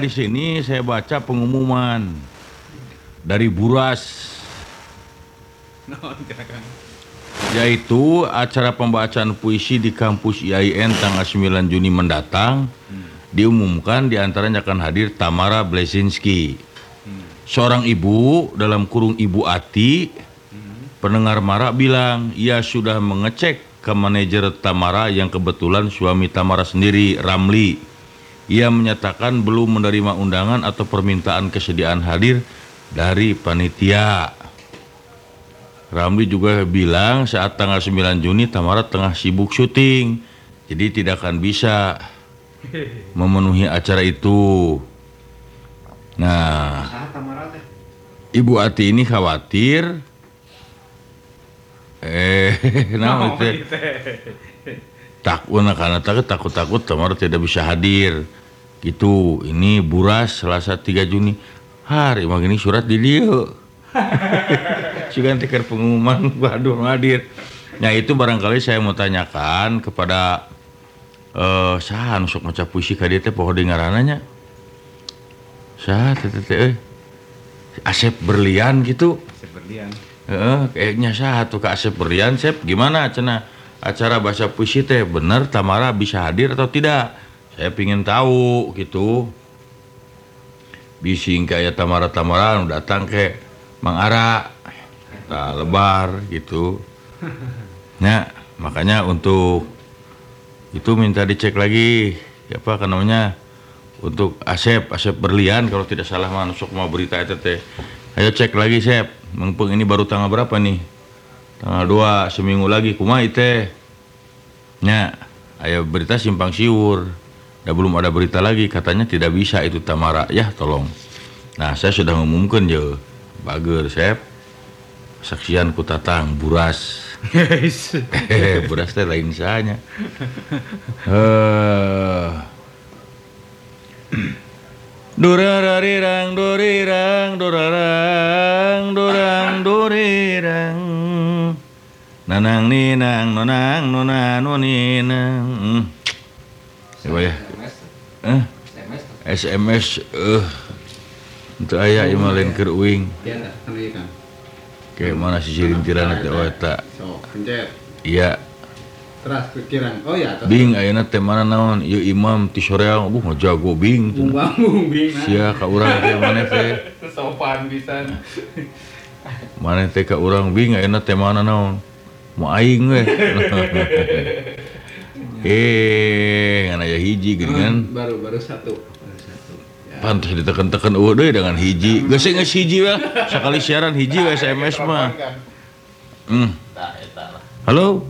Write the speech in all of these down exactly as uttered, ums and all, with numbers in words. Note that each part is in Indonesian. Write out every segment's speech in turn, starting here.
di sini saya baca pengumuman dari Buras. Yaitu acara pembacaan puisi di kampus I A I N tanggal sembilan Juni mendatang. hmm. Diumumkan diantaranya akan hadir Tamara Blesinski, hmm. seorang ibu dalam kurung Ibu Ati. hmm. Pendengar Mara bilang ia sudah mengecek ke manajer Tamara yang kebetulan suami Tamara sendiri, Ramli. Ia menyatakan belum menerima undangan atau permintaan kesediaan hadir dari panitia. Ramli juga bilang saat tanggal sembilan Juni Tamara tengah sibuk syuting, jadi tidak akan bisa memenuhi acara itu. Nah, Ibu Ati ini khawatir eh nah itu takut karena takut takut takut Tamara tidak bisa hadir gitu. Ini Buras Selasa tiga Juni hari magini surat di dia juga tikar pengumuman waduh hadir. Nah itu barangkali saya mau tanyakan kepada uh, saha sok maca puisi ka dieu teh poho di ngarananya saha teh teh Asep Berlian gitu. Asep Berlian. Heeh, kayaknya saha tuh ka Asep Berlian. Sep gimana cenah acara bahasa puisi teh bener Tamara bisa hadir atau tidak? Saya pingin tahu gitu. Bising kayak Tamara-Tamara datang ke Mang Ara, nah, lebar gitu. Nah, makanya untuk itu minta dicek lagi, apa kan namanya, untuk Asep, Asep Berlian kalau tidak salah masuk mau berita itu teh. Ayo cek lagi Sep, mumpung ini baru tanggal berapa nih? Tanggal dua, seminggu lagi kumaha teh. Nya, ayo berita simpang siur. Dan belum ada berita lagi, katanya tidak bisa itu Tamara. Ya, tolong. Nah, saya sudah mengumumkan je. Bager Sep. Saksian ku Tatang Buras. Hehehe, Buras teh lain sahanya. Eh. Durarirang durirang durarang durang durirang. Nanang ninang nonang nona noninang. Coba ya. Eh? S M S eh untuk ayah yang malin keur uing. Kayak mana sih rintiran teh eta? Iya. Teras pikiran. Oh ya. Bing ayeuna teh mana naon? Ieu imam ti soreang uh ngajago bing. Bung bung bing. Sia ka urang teh maneh teh. Sopan pisan. Maneh teh ka urang bing ayeuna teh mana naon? Mau aing we. Eh, ngana aya hiji geuningan. Baru baru satu. Pantas ditekan-tekan eueuh deui dengan hiji. Geus geus hiji we. Sakali siaran hiji we S M S mah. Hmm. Halo.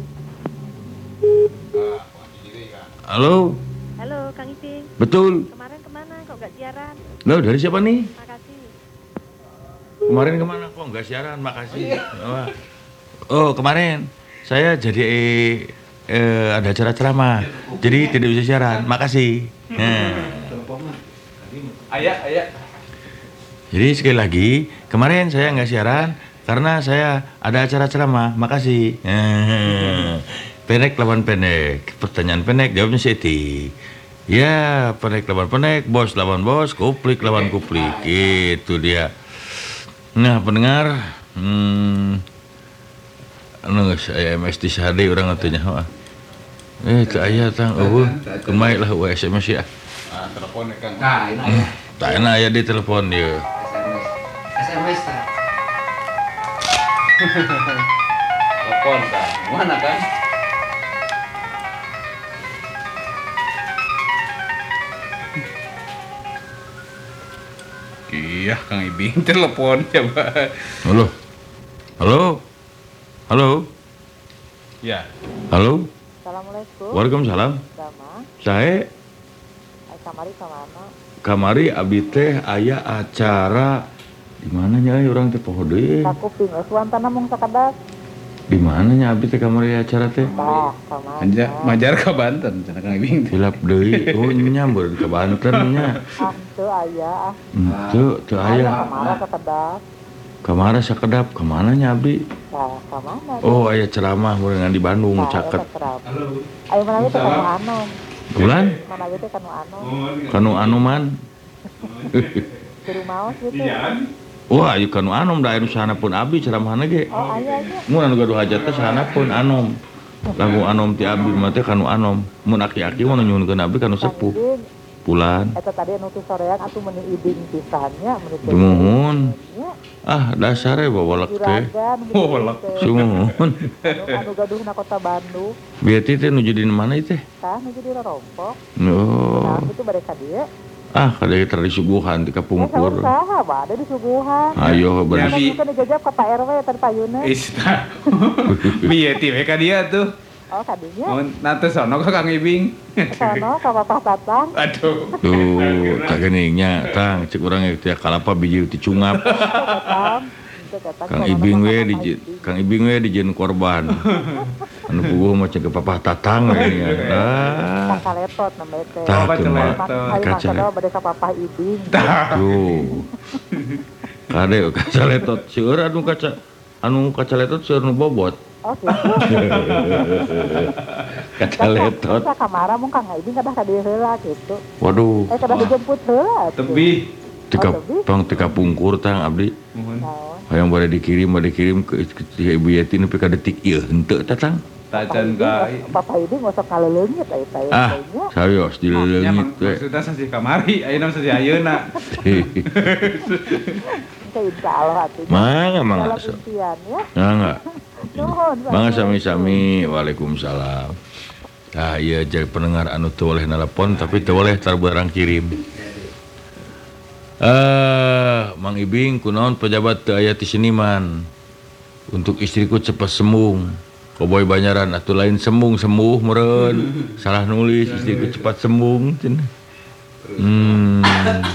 Halo. Halo Kang Iping. Betul. Kemarin kemana kok nggak siaran? Loh dari siapa nih? Makasih. Kemarin kemana kok nggak siaran? Makasih. Oh kemarin saya jadi eh, ada acara ceramah. Jadi tidak bisa siaran. Makasih. Nah. Ayah, ayah. Jadi sekali lagi, kemarin saya nggak siaran karena saya ada acara ceramah. Makasih. Pendek lawan pendek. Pertanyaan pendek, jawabnya Siti. Ya, pendek lawan pendek, bos lawan bos, kuplik lawan kuplik. Itu dia. Nah, pendengar, hmm, anu saya M S di sehari orang atunya. Eh, teu aya tang eueuh. Kemaik lah we S M S ya. Ah, telepon Kang. Nah, ini aya. Tak enak aya di telepon dia. S M S ta. Telepon ta. Mana kan? Iya, Kang Ibing telepon coba. Halo. Halo. Halo. Ya. Halo. Assalamualaikum. Waalaikumsalam. Sama. Sae Kamari kemana? kamari abdi teh aya acara di mana nya urang teh poho deui. Sakuping suantana mung sakadak. Di mana nya abdi teh kamari acara teh? Tah, kamana? Anja majar ka Banten cenah Kang Ibing. Hilap deui. Oh nya meureun ka Banten nya. Ah, teu aya ah. Teu teu aya. Kamara sakadak. Kamara sakedap ka mana nya abdi? Tah, kamana? Oh aya ceramah meureun di Bandung caket. Halo. Ayo mana teh kanu anu. Bulan? Mana teh kanu anu. Kanu anuman. Suruh maos gitu. Wah, ieu kanu anom da anu sahanapun abdi ceramahna ge. Oh, aya nya. Mun anu gaduh hajat teh sahanapun anom. Lagu anom ti abdi mah teh kanu anom. Mun aki-aki mah nyuhunkeun abdi kanu sepuh. Pulan. Eta tadi anu teh soreang atuh meuni iding pisannya meuni teh. Dumuhun. Ah, dasare bawa lek teh. Oh, lek. Sumuhun. Anu anu gaduhna kota Bandung. Bieu teh nuju di mana ieu teh? Tah nuju di Rorompok. Oh. Nah, itu bade ka dieu. Ah, kada kita disuguhan ti kapungkur. Eh, saha bade disuguhan. Ayo Ya, bari. Bi. Kan dijajab ka Pak R W tadi payuna. Ista. Bieu ti we ka dia tuh. Oh, kadinya. Mun nanti sono ka Kang Ibing. Sono ka Bapak Tatang. Aduh. Tuh, tak geningnya, tang cek urang teh kalapa biji ti cungap. Tatang. Kang Ibing we di Kang Ibing we dijieun korban. Anu puguh mah cek Papa Tatang we nya. Ah. Kacaletot namanya teh. Tah, Oh, teu mah kacaletot. Hari kaca. masa bade ka Papa Ibing. Tuh. Kade kacaletot seueur anu kaca anu kacaletot seueur nu bobot. Oh, gitu. Kacaletot. Sa kamara mung Kang Ibing kadah ka dieu heula gitu. Waduh. Eh kadah dijemput heula. atuh. Tebi. Tika tong tika pungkur tang abdi. Mohon. Naon? Hayang bade dikirim, bade dikirim ke ke Ibu Yati nepi ka detik ieu henteu tatang. Tacan ka. Papa Ibing ngosok kaleleungit aya teh. Ah, sayos Nya dileleungit we. maksudna sasi kamari, ayeuna sasi ayeuna. Insya Allah atunya. Mangga mangga. Dalam impian ya. Mangga. Nuhun. Mangga sami-sami. Waalaikumsalam. Nah, iya jadi pendengar anu teu boleh nelpon tapi teu boleh tar barang kirim. Eh, Mang Ibing kunaon pejabat teu aya ti Seniman. Untuk istriku cepat sembuh. Koboy Banyaran atuh lain sembung sembuh meureun. Salah nulis istriku cepat sembuh cenah. Hmm.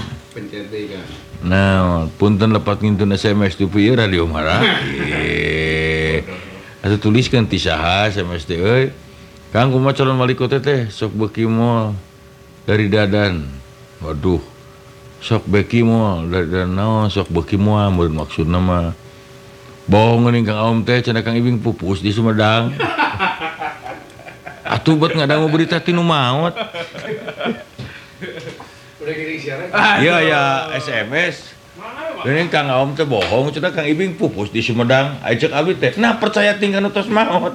Nah, punten lepat ngintun S M S tu pieu radio marah. Eh. Atuh tuliskeun ti saha S M S teh euy. Kang kumaha calon wali kota teh sok beuki moal dari Dadan. Waduh. Sok beuki moal dari Dadan naon sok beuki moal meureun maksudna mah. Bohong geuning Kang Aom teh cenah Kang Ibing pupus di Sumedang. Atuh bet ngadangu berita ti nu maot. Iya ya S M S. Ini Kang Aom teh bohong, cenah Kang Ibing pupus di Sumedang. Ajak abdi teh, nah percaya tinggal nu tos maot.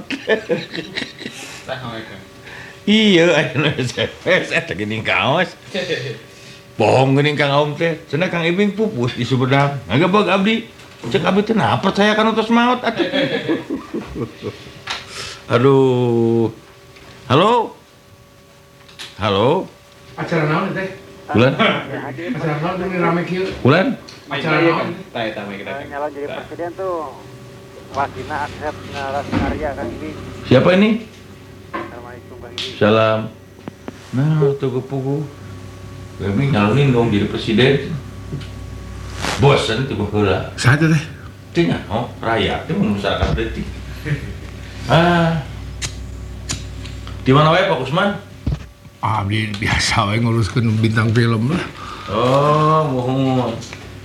Iya, aya S M S eta geuning kaos. Bohong geuning Kang Aom teh, cenah Kang Ibing pupus di Sumedang. Ngagabag abdi. Cek abdi teh nah percaya kan tos maot atuh. Aduh. Halo. Halo. Acara naon teh? Bulan? Acara naon teh rame kieu? Bulan? Acara naon? Tah eta mah kita. Nyalon jadi presiden tuh wakilna Asep Narasarya kan ini. Siapa ini? Assalamualaikum Bang Ibing. Salam. Nah, tuh kepugu. Kami nyalonin dong jadi presiden. Bosan tuh heula. Saha teh? Tinggal oh, rakyat itu masyarakat detik. Ah. Di mana wae Pak Usman? Abdi biasa we nguruskeun bintang film lah. Oh, mohon.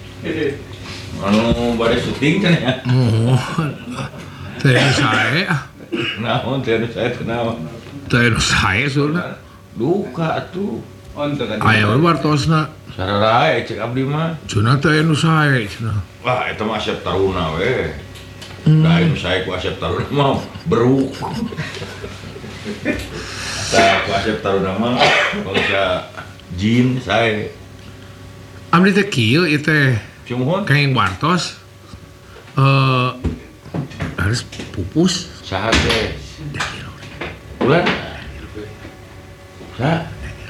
Anu bade syuting kan ya? Mohon. Teh sae ah. Naon teh anu saya teh naon? Teh sae soalna. Duka atuh. Untuk kan. Aya we wartosna. Sararae cek abdi mah. Cenah teh anu sae cenah. Wah, eta mah Asep Taruna we. Da anu saya ku Asep Taruna mah beruk. Tah ku Asep Taruna mah kalau sa jin saya. Abdi teh kieu ieu teh Cumuhun kain wartos. Eh harus pupus. saha teh? Bulan. Sa.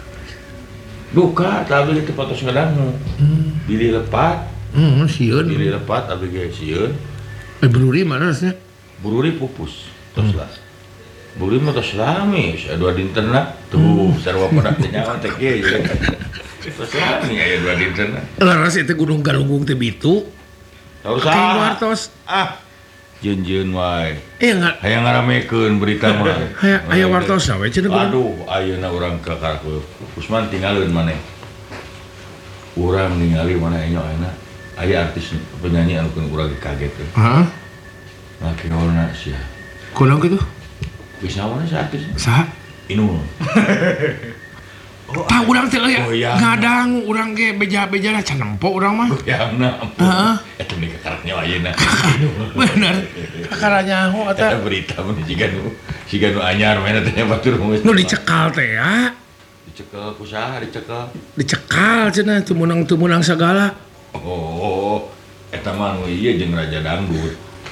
Duka tapi teh patos ngadangu. Dili lepat, Hmm, sieun. dili lepat abdi ge sieun. Eh beruri mana rasnya? Bururi pupus. Tos lah. Bururi mah tos lami, saya dua dintenna. Tuh, sarua pada teh nyawa teh kieu ya. Tos lami aya dua dintenna. Laras itu Gunung Galunggung teh bitu. Tahu Kain saha? wartos. Ah. Jeun-jeun wae. Eh enggak. Hayang ngaramekeun berita mah. Aya aya wartos we cenah Gunung. Aduh, ayeuna urang ka Karaku. Usman tinggalin maneh. Urang ningali mana enyo ayeuna. Aya artis penyanyi anu keun urang kaget teh. Heeh. Nah, kinaona sia. Kunaon kitu? Bisa mana si artis? Saha? Inul. Oh, ah urang teh ya goyang. ngadang urang ge beja-beja lah can nempo urang mah Goyangna. Heeh. Eta meni kakarnya ayeuna. bener kakaranya ho Eta eta berita meni jiga nu jiga nu anyar mainna teh batur geus. nu dicekal teh ya dicekel ku saha dicekel? dicekal cenah teu meunang teu meunang sagala Oh, eta mah nu ieu jeung Raja Dangdut.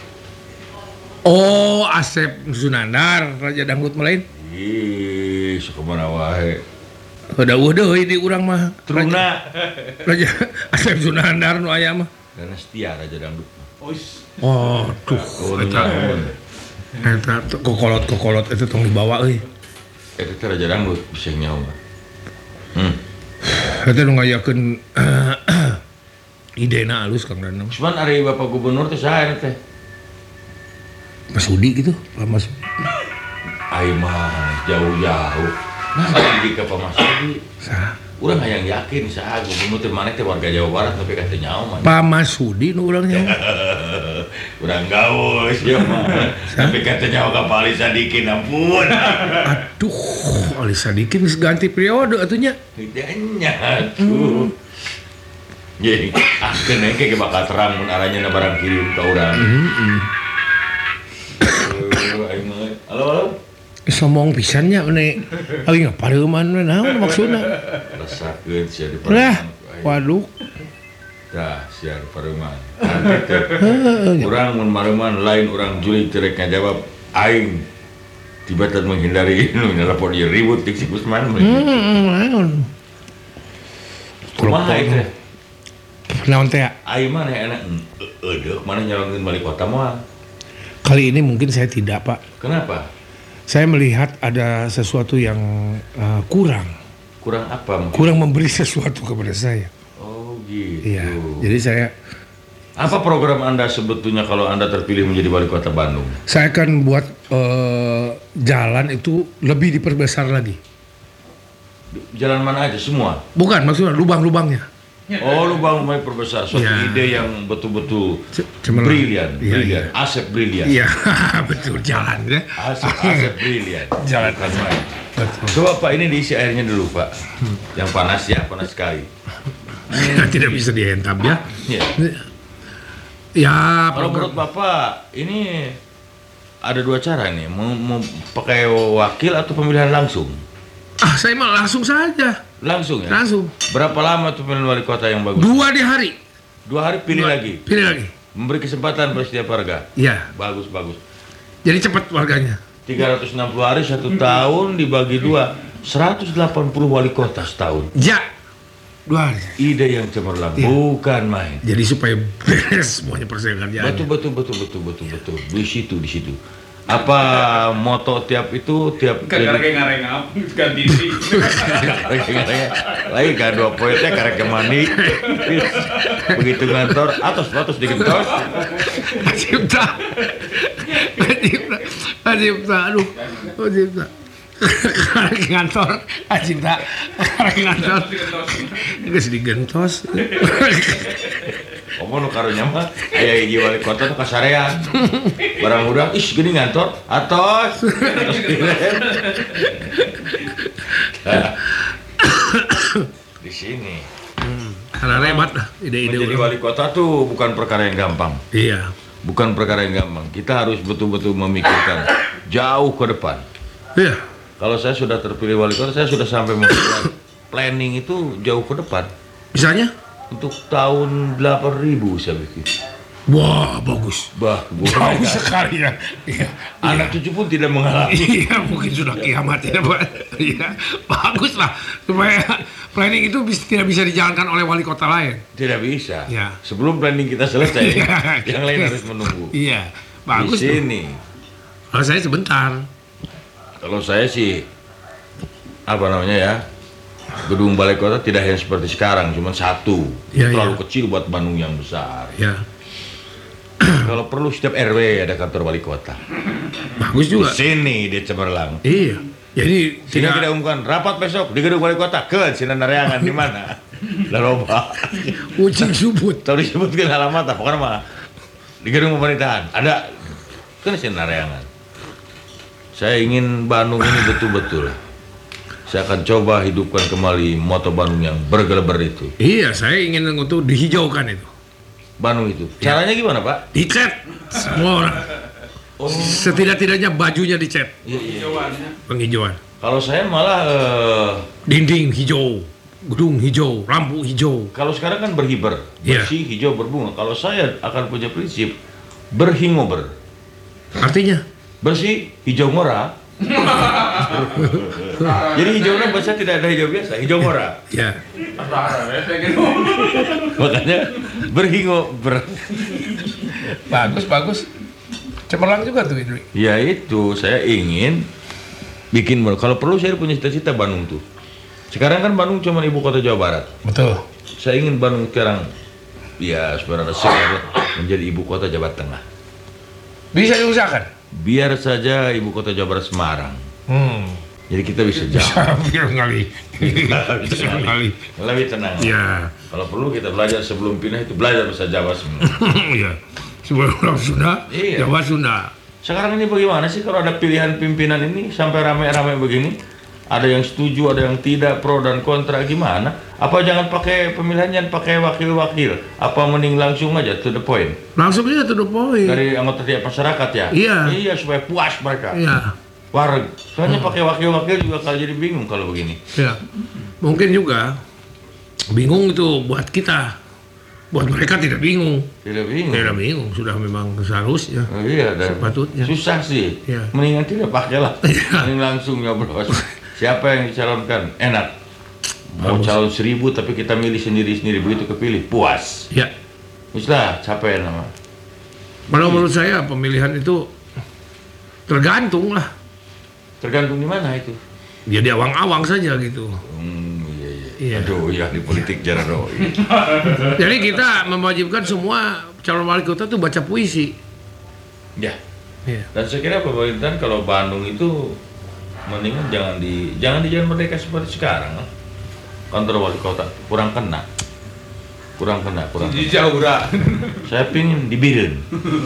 oh Asep Sunandar Raja Dangdut mah lain Ih, sakumana wae. dawuh deui di urang mah Truna. Raja Asep Sunandar nu aya mah Karena setia Raja Dangdut. oh tuh Oh, eta nyaho. eta tuh kokolot-kokolot itu tong dibawa euy Eta teh Raja Dangdut bisa nyaho. Hmm. eta nu ngayakeun idena alus Kang Danang Cuman ari Bapak Gubernur teh saha eta teh? Mas Udi gitu Pak Mas Ai mah jauh-jauh. Nah, jadi ke Pak Mas Udi. Sah. Urang hayang yakin saha gubernur teh maneh teh warga Jawa Barat tapi kata nyaho mah. Pak Masudi nu urang nya Urang gaus ya mah. Tapi kata nyaho ka Pak Ali Sadikin ampun. aduh Ali Sadikin geus ganti periode atunya Tidaknya tuh. Jadi, akhirnya kayak bakal terang mun arahnya barang kirim ke orang. Halo, halo. sombong pisannya ane aing ngapareuman we naon maksudna Rasakeun sia di lah pareuman. waduh Dah sia di pareuman. Nanti urang mun mareuman lain urang julig teu rek ngajawab aing tiba-tiba menghindari nu nelpon ieu ribut dik si Gusman. heeh naon Kumaha teh? naon teh Aing mah enak eueuh mana nyalonkeun balik kota moal. kali ini mungkin saya tidak Pak Kenapa? saya melihat ada sesuatu yang uh, kurang Kurang apa mungkin? kurang memberi sesuatu kepada saya Oh gitu. iya jadi saya Apa program Anda sebetulnya kalau Anda terpilih menjadi wali kota Bandung? saya akan buat uh, jalan itu lebih diperbesar lagi Jalan mana aja semua? bukan maksudnya lubang-lubangnya Oh, lu bang mulai perbesar suatu Ya. ide yang betul-betul C- cemerlang. brilian, Iya, brilian, iya. Asep brilian, iya betul jalan ya Asep, Asep brilian. Jalan. Bukan main. betul Coba Pak ini diisi airnya dulu Pak, yang panas ya, panas sekali. tidak bisa dihentam ya Ya. ya Kalau menurut Bapak ini ada dua cara nih, mau, mau pakai wakil atau pemilihan langsung? ah saya mah langsung saja Langsung ya. langsung Berapa lama tuh pemilihan wali kota yang bagus? dua di hari Dua hari pilih Dua- lagi, pilih lagi memberi kesempatan pada setiap warga. iya Bagus bagus. jadi cepat warganya tiga ratus enam puluh hari satu tahun dibagi dua, seratus delapan puluh wali kota setahun. ya dua hari Ide yang cemerlang, Iya. bukan main. jadi supaya beres semuanya persaingan Betul betul betul betul betul betul. Di situ di situ. Apa moto tiap itu tiap Karek ngareng apa ganti sih. lagi kan dua poinnya karek mandi begitu ngantor atas atas digentos Cipta Cipta Cipta aduh Cipta karek ngantor Cipta karek ngantor geus digentos omong nu karunya mah aya hiji wali kota nu kasarean barang udah ih gini ngantor atos atos direm. Di sini karena rebat lah ide-ide menjadi orang. wali kota tuh bukan perkara yang gampang. Iya Bukan perkara yang gampang. Kita harus betul-betul memikirkan jauh ke depan. iya Kalau saya sudah terpilih wali kota, saya sudah sampai memikirkan planning itu jauh ke depan. misalnya Untuk tahun delapan ribu saya bikin. wah bagus Bah, jauh sekali ya iya anak cucu pun tidak mengalami. iya mungkin sudah kiamat ya Pak iya bagus lah supaya planning itu bis- tidak bisa dijalankan oleh wali kota lain Tidak bisa. Ya. Sebelum planning kita selesai, Iya. yang lain harus menunggu. iya bagus Di tuh. sini, kalau saya sebentar kalau saya sih apa namanya ya, gedung balai kota tidak hanya seperti sekarang, cuma satu. Ya, Terlalu ya. kecil buat Bandung yang besar. ya Kalau perlu setiap R W ada kantor wali kota. bagus Di juga sini dia cemerlang. iya jadi Sehingga kita tidak umumkan rapat besok di gedung wali kota ke Sinan Nareangan di mana? Lalu apa? kucing subut Tahu disebutkan alamat apa pokoknya mah di gedung pemerintahan ada kan Sinan Nareangan. Saya ingin Bandung ini betul-betul saya akan coba hidupkan kembali moto Bandung yang bergeleber itu. Iya, saya ingin untuk dihijaukan itu. Bandung itu. Caranya gimana, Pak? Dicat semua orang. Oh, Setidak-tidaknya bajunya dicat. iya, iya. Penghijauan. Kalau saya malah eh, Dinding hijau, gedung hijau, lampu hijau. kalau sekarang kan berhiber, Iya. bersih, hijau, berbunga. Kalau saya akan punya prinsip berhingober. Artinya? Bersih, hijau ngora. Jadi hijaunya bahasa tidak ada hijau biasa, hijau ngora. Ya. Makanya berhingober. Bagus, bagus. Cemerlang juga tuh Idri. Ya itu, saya ingin bikin, kalau perlu saya punya cita-cita Bandung tuh. Sekarang kan Bandung cuma ibu kota Jawa Barat. Betul. Saya ingin Bandung sekarang, ya sebenarnya sekarang menjadi ibu kota Jawa Tengah. Bisa diusahakan. Biar saja ibu kota Jawa Barat Semarang. Hmm. Jadi kita bisa jalan. Biar kali. Bisa kali. Lebih tenang. Ya. Kalau perlu kita belajar sebelum pindah itu belajar bahasa Jawa semua. Iya. Sebelum orang Sunda, Iya. Jawa Sunda. Sekarang ini bagaimana sih kalau ada pilihan pimpinan ini sampai rame-rame begini? Ada yang setuju, ada yang tidak, pro dan kontra, gimana? Apa jangan pakai pemilihan, jangan pakai wakil-wakil? Apa mending langsung aja to the point? Langsung aja to the point. Dari anggota tiap masyarakat ya? Iya. Iya, supaya puas mereka. Iya. Warga. Soalnya pakai wakil-wakil juga kalau jadi bingung kalau begini. Ya. Mungkin juga bingung itu buat kita. Buat mereka tidak bingung. Tidak bingung. Tidak bingung, sudah memang seharusnya. Oh, iya, dan Sepatutnya. susah sih. Iya. Mendingan tidak pakai lah. Iya. Mending langsung nyoblos. Siapa yang dicalonkan? Enak. Mau Bagus. calon seribu tapi kita milih sendiri-sendiri, begitu kepilih puas. Ya. Sudah capek nama. Kalau menurut saya pemilihan itu tergantung lah. Tergantung di mana itu. Ya di awang-awang saja gitu. Hmm, iya, iya. Iya. Aduh, ya di politik jarang dong. Jadi kita mewajibkan semua calon wali kota tuh baca puisi. Ya. Iya. Dan saya kira pemerintahan kalau Bandung itu mendingan jangan di jangan di Jalan Merdeka seperti sekarang. Kantor wali kota kurang kena. Kurang kena, kurang. Di Kena. Jaura. Saya pingin di Biren.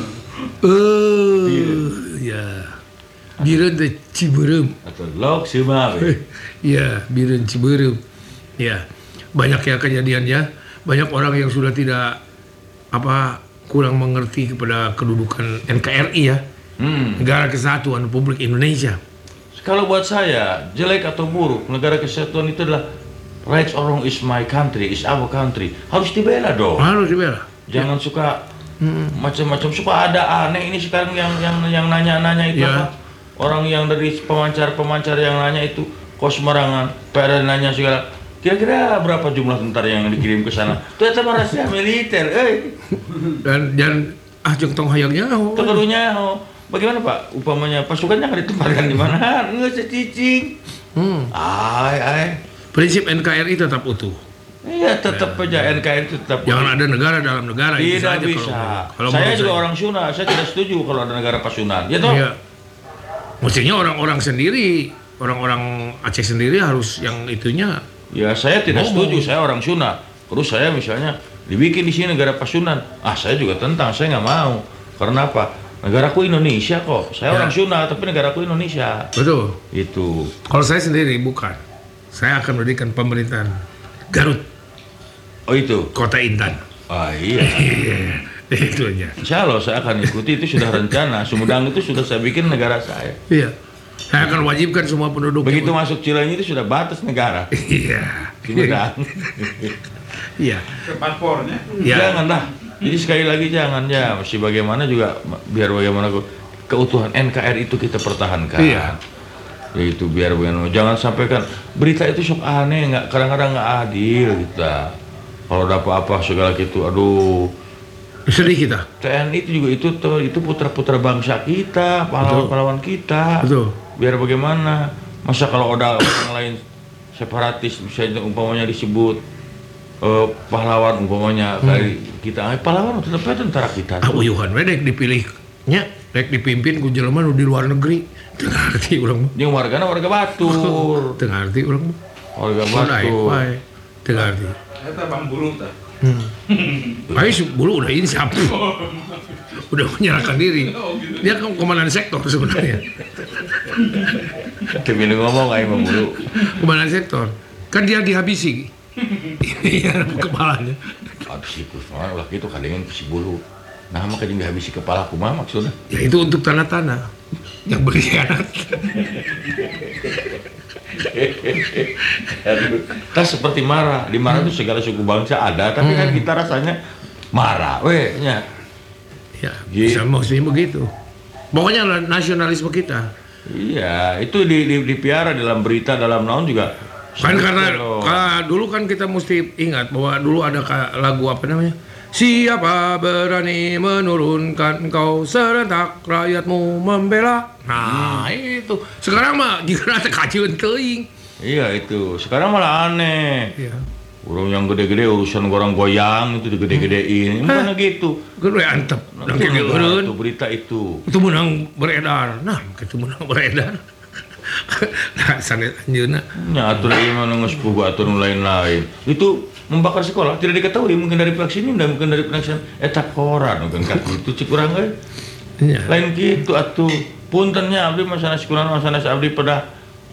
Eh, ya. Biren de Ciberem. Atau Lok Sumawe. Ya, Biren Ciberem. Ya. Banyak ya kejadiannya. Banyak orang yang sudah tidak apa kurang mengerti kepada kedudukan N K R I ya. Hmm. Negara Kesatuan Republik Indonesia. Kalau buat saya, jelek atau buruk, negara kesatuan itu adalah right or wrong is my country, is our country. Harus dibela dong. Harus dibela. Jangan suka Hmm. macam-macam. Suka ada aneh ini sekarang yang yang yang nanya-nanya itu Ya. apa? Orang yang dari pemancar-pemancar yang nanya itu kok sembarangan. Pada nanya segala. Kira-kira berapa jumlah tentara yang dikirim ke sana? Ternyata rahasia militer. Eh, Dan dan ah jeung tong hayangnya. oh. kedudunya oh. Bagaimana Pak? Upamanya pasukannya akan ditempatkan di mana? Nggak secicing. Hmm. Ay, ay. Prinsip N K R I tetap utuh. Iya, tetap aja N K R I itu tetap. Jangan ada negara dalam negara. itu Tidak saja bisa. Kalau, kalau Saya menurut juga orang Sunda, saya tidak setuju kalau ada negara pasunan. Ya toh? Iya. Mestinya orang-orang sendiri, orang-orang Aceh sendiri harus yang itunya. Ya saya tidak Ngomong. setuju, saya orang Sunda. Terus saya misalnya dibikin di sini negara pasunan. Ah, saya juga tentang, saya nggak mau. Karena apa? Negaraku Indonesia kok. Saya Ya. orang Sunda, tapi negaraku Indonesia. Betul. Itu. Kalau saya sendiri bukan. Saya akan mendirikan pemerintahan Garut, Oh itu. Kota Intan. Ah iya. Iya, itu aja. Insya Allah saya akan ikuti, itu sudah rencana. Sumedang itu sudah saya bikin negara saya. Iya. Saya akan wajibkan semua penduduk. Begitu masuk Cileunyi itu sudah batas negara. Iya. Sumedang. Iya. Ke paspornya. Iya. Jangan lah. Jadi sekali lagi jangan ya. Mesti bagaimana juga biar bagaimana ke- keutuhan N K R itu kita pertahankan. Iya. Yaitu biar bagaimana. Jangan sampai kan berita itu sok aneh, nggak kadang-kadang nggak adil kita. Kalau ada apa-apa segala gitu, aduh. Sedih kita. T N I itu juga itu tuh itu putra-putra bangsa kita, pahlawan-pahlawan kita. Betul. Biar bagaimana? Masa kalau ada orang lain separatis misalnya umpamanya disebut eh, pahlawan umpamanya dari kita, eh, pahlawan tetap aja tentara kita. Ah, uyuhan we dek dipilihnya, dek dipimpin ku jelema nu di luar negeri. Teu ngarti urang mah. Yang wargana warga Batur, Teu ngarti urang mah. warga Mun aing Batur. wae. Teu ngarti. Eta Bang Bulu tah. Hmm. Aing su- bulu udah insaf. Udah menyerahkan diri. Dia kan komandan sektor sebenarnya. Tapi lu ngomong aing mah bulu. Komandan sektor. Kan dia dihabisi. Iya, kepalanya. Habis itu soalnya ulah gitu kadang si bulu. Nah mah kadang dihabisi kepala kumaha maksudnya? Ya itu untuk tanah-tanah yang berkhianat. Kita seperti marah. Di marah itu segala suku bangsa ada, tapi kan kita rasanya marah. Weh, nya. Ya, Gitu. bisa mesti begitu. Pokoknya lah nasionalisme kita. Iya, itu di, di, dipiara dalam berita, dalam naon juga. Kan karena Kalau- ah, dulu kan kita mesti ingat bahwa dulu ada ka- lagu apa namanya? Siapa berani menurunkan engkau serentak rakyatmu membela. Nah, itu. Sekarang mah jika ada kajian teuing. Iya itu. Sekarang malah aneh. Iya. Orang yang gede-gede urusan orang goyang itu digede-gedein. Mana gitu. Gede antep. Nah, Dan itu kayak nah, eureun. itu berita itu. Itu menang beredar. Nah, itu menang beredar. Nah, sanes anjeunna. Ya atur ieu mah geus boga atur nu lain-lain. Itu membakar sekolah tidak diketahui mungkin dari pihak sini dan mungkin dari pihak sana. Eta koran mungkin ka kitu cik urang euy. Iya. Lain kitu atuh. Puntennya abdi mah sanes kunaon mah sanes abdi pedah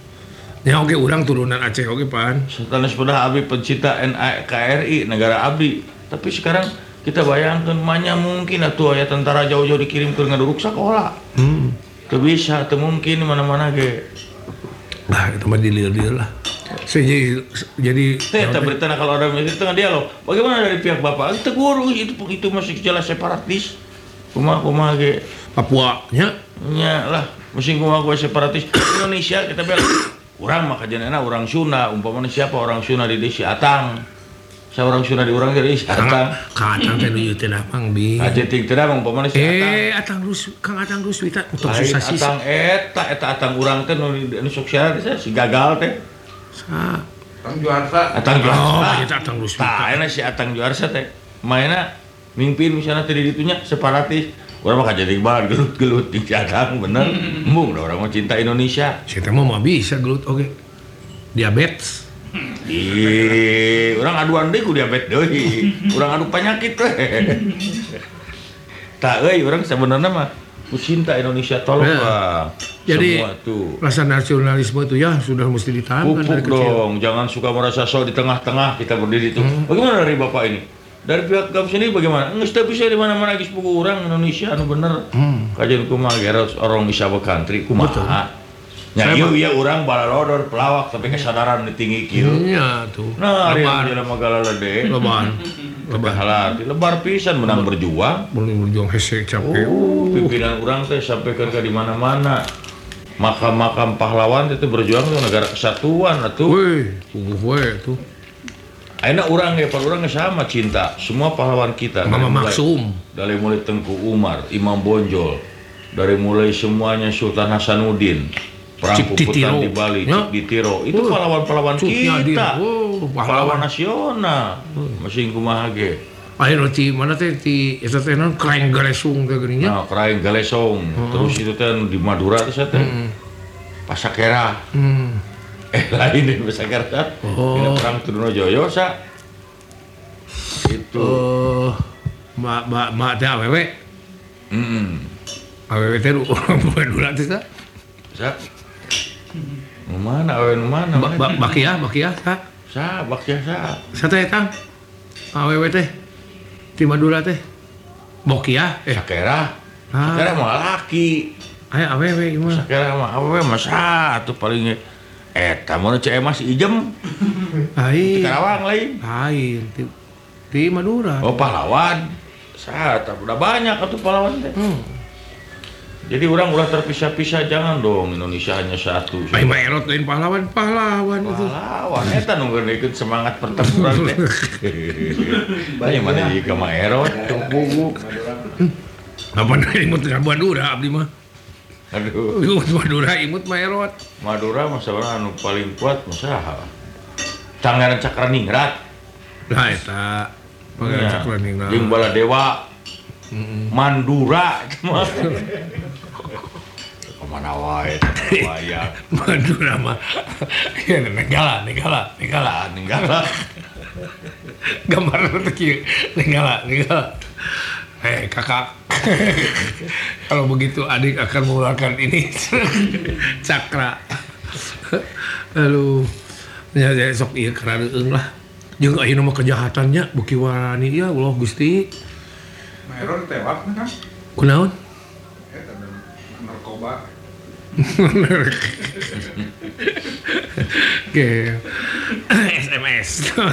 Ya oke orang turunan Aceh oke pan. sanes pedah abdi pencinta N K R I negara abdi. Tapi sekarang kita bayangkan manya mungkin atuh aya tentara jauh-jauh dikirim ke ngaduruk sekolah. Hmm. Teu bisa, teu mungkin mana-mana ge. Nah, itu mah dilir-dir lah. Saya jadi jadi Teh, eta berita kalau ada di tengah dialog. Bagaimana dari pihak Bapak? Kita guru itu itu masih jelas separatis. Kumaha kumaha ge. Papua nya. Nya lah, musim kumaha kumaha separatis. Indonesia kita bela. Urang mah kajenena urang Sunda, umpamanya siapa orang Sunda di desa Atang. Saya orang Sunda di urang jadi Kang Atang. Kang Atang teh nu teh Mang Bi. Aja ting teh umpamanya si Atang. Eh, Atang Rus, Kang Atang Ruswita untuk Lain susah sih. Atang eta eta Atang urang teh nu nu sok syarat si gagal teh. Sa. Kang Juarsa. Atang Oh, Juarsa. eta Atang Ruswita. Tah, enak si Atang Juarsa teh. Mainna mimpin misalnya tadi ditunya separatis. Orang mah jadi banget gelut-gelut di Atang bener. Embung dah orang mah cinta Indonesia. Saya teh mah bisa gelut oke. Diabetes. Ih, orang aduan deui ku diabetes deui. Urang adu penyakit teh. Tah euy urang sebenarnya mah ku cinta Indonesia tolong Ya. lah. Jadi Semua tuh. rasa nasionalisme itu ya sudah mesti ditanamkan dari Pupuk kecil. dong, jangan suka merasa sok di tengah-tengah kita berdiri itu. Hmm. Bagaimana dari Bapak ini? Dari pihak Gam sendiri bagaimana? Nggak setiap bisa di mana-mana geus pugu urang Indonesia anu bener. Hmm. Kajian kumaha geros orang Isaba country kumaha. Nya Saya ieu ieu urang balalodor pelawak tapi kesadaran di tinggi kieu. Iya tuh. Nah, ari lebar, yang magala lede. lebar, Lebar halati, lebar pisan menang berjuang. boleh berjuang hesek capek. Oh, pimpinan urang teh sampaikan ke di mana-mana. Makam-makam pahlawan itu berjuang tuh negara kesatuan atuh. Wih, tunggu we tuh. Ayeuna urang ge, urang ge sama cinta semua pahlawan kita. Mama Dari mulai- Maksum. Dari mulai Tengku Umar, Imam Bonjol, dari mulai semuanya Sultan Hasanuddin, perang Cik puputan Ditiro. di Bali, Ya. Cik Ditiro, itu Oh, pahlawan-pahlawan Cuk Nyadir. kita, Oh, pahlawan pahlawan. nasional, masih kumaha ge. Ayo ti mana teh ti eta teh non kraeng galesung teh geuning nya. Nah, Kraeng Galesong, terus itu teh di Madura teh saya teh, Pasakera, Hmm. eh lain di Pasakera, Oh. ini perang Trunojoyo sa, itu, Eh, mbak mbak mbak teh awewe, hmm, awewe teh orang Madura teh sa. sa, nu mana, awe nu mana, Mbak mbak bakia bakia sa. sa, bakya sa, Sa teh Kang. Awewe teh ti Madura teh. Bokia eh Sakera, ah, Sakera mah laki, aya awewe ieu mah. Sakera mah awe mah satu paling, eta mun cek emas ijem, Ai. Karawang lain, Lain ti, ti Madura. oh pahlawan, sa, udah banyak atuh pahlawan teh. Hmm. Jadi orang ulah terpisah-pisah, jangan dong Indonesia hanya satu. Ai mah erot lain pahlawan, pahlawan itu. Pahlawan, eta nu ikut semangat pertempuran teh. Banyak mana jika mah erot, tubuh. Apa dari imut dengan Madura abdi mah. Aduh, Imut Madura imut mah erot. Madura masa orang anu paling kuat masa Pangeran Cakraningrat. Nah eta Pangeran Cakraningrat. Jeung Baladewa. Mandura itu mah. Kemana wae, wayang. Madura mah. Ya negala, negala, negala. Nenggala. Gambar teh kieu. Negala, negala. Eh kakak, kalau begitu adik akan mengeluarkan ini cakra. Aduh. Ya ya, sok ieu karareung lah. Jeung ayeuna mah kejahatannya beuki warani ya Allah Gusti. Meron tewak kan? Kunaon? Eta narkoba. Oke. S M S.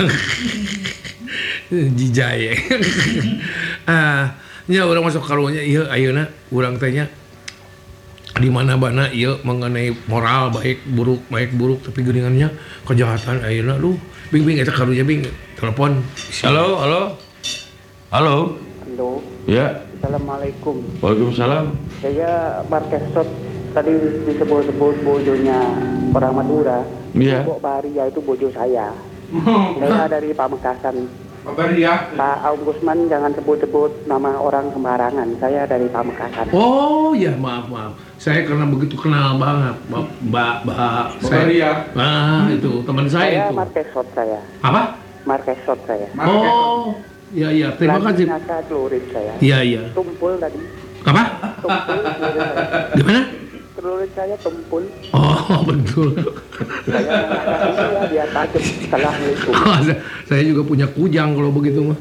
Jijai. Ah, nya urang masuk karunya ieu ayeuna urang teh nya di mana bana ieu mengenai moral baik buruk baik buruk tapi geuningannya kejahatan ayeuna lu bing-bing eta karunya bing telepon. Halo, halo. Halo. Halo, Ya. Assalamualaikum. Waalaikumsalam. Saya Marques Sot, tadi disebut-sebut bojonya orang Madura. Iya. Bok Baria itu bojo saya. Saya dari Pamekasan. Kabar ya. Pak Aung Gusman jangan sebut-sebut nama orang sembarangan. Saya dari Pamekasan. Oh ya maaf maaf. Saya karena begitu kenal banget Mbak Mbak Mbak saya. Baria. Ah itu teman saya Saya itu. Marques Sot saya. Apa? Marques Sot saya. Oh, iya iya. Terima kasih. Nasa celurit saya. Iya iya. Tumpul tadi. Apa? Tumpul. Di mana? Celurit saya tumpul. Oh betul. Saya mengatakan ya biar tajam setelah itu. Oh, saya- saya juga punya kujang kalau begitu mah.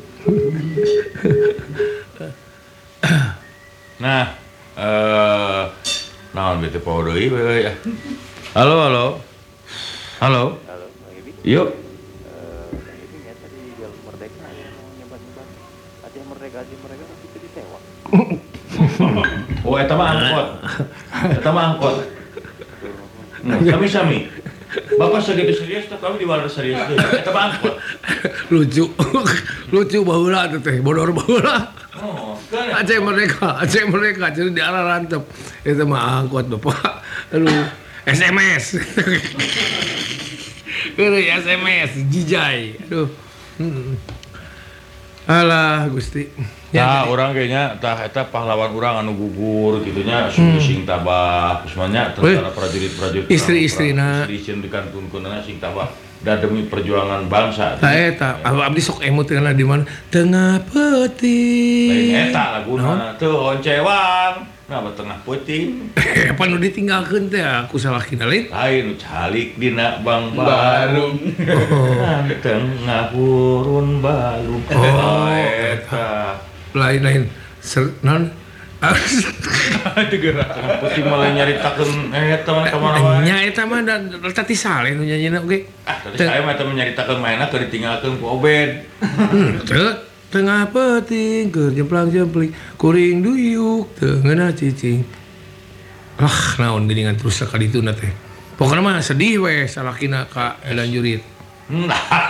Nah, eh naon bete poho deui we ya. Halo, halo. Halo. Halo, Bang Ibi. Yuk. Bang Ibi ya tadi Jalan Merdeka yang mau nyebat-nyebat Aceh Merdeka, Aceh Merdeka tapi itu ditewak. Oh, eta mah angkot. Eta mah angkot. Hmm, sami-sami. Bapak segitu serius teh kami di wadah serius deui. Eta mah angkot. Lucu. Lucu baheula teh teh, bodor baheula. Oh, kan. Aceh Merdeka, Aceh Merdeka jadi di arah rantep. Itu mah angkot Bapak. Aduh, S M S. Kere S M S jijai. Aduh. Hmm. Alah Gusti. Nah, orang kayaknya tah eta pahlawan urang anu gugur gitunya sing sing tabah semuanya tentara prajurit-prajurit Istri-istrina. istri dikantunkeunna sing tabah da demi perjuangan bangsa. Tah eta, abdi sok emut kana di mana? Tengah Lain peti. eta laguna teu oncewang. Nah, tengah peuting. Apa nu ditinggalkeun teh aku salahkina lain. Lain calik dina Bang Barung. Barung. Tengah urun balung. Oh, eta. Lain-lain. Ser non. Itu gerak. Tengah peuting malah nyaritakeun eta mah kamana wae. Nya eta mah da tati saleh nu nyanyina oge. Ah, tadi saya mah eta menyaritakeun mainna keur ditinggalkeun ku Obed. Hmm, teu tengah peting keur jemplang-jempling kuring duyuk teu ngeunah cicing. Ah, naon geuningan terus sakali itu teh. Pokona mah sedih we salakina ka Edan Jurit. Lain,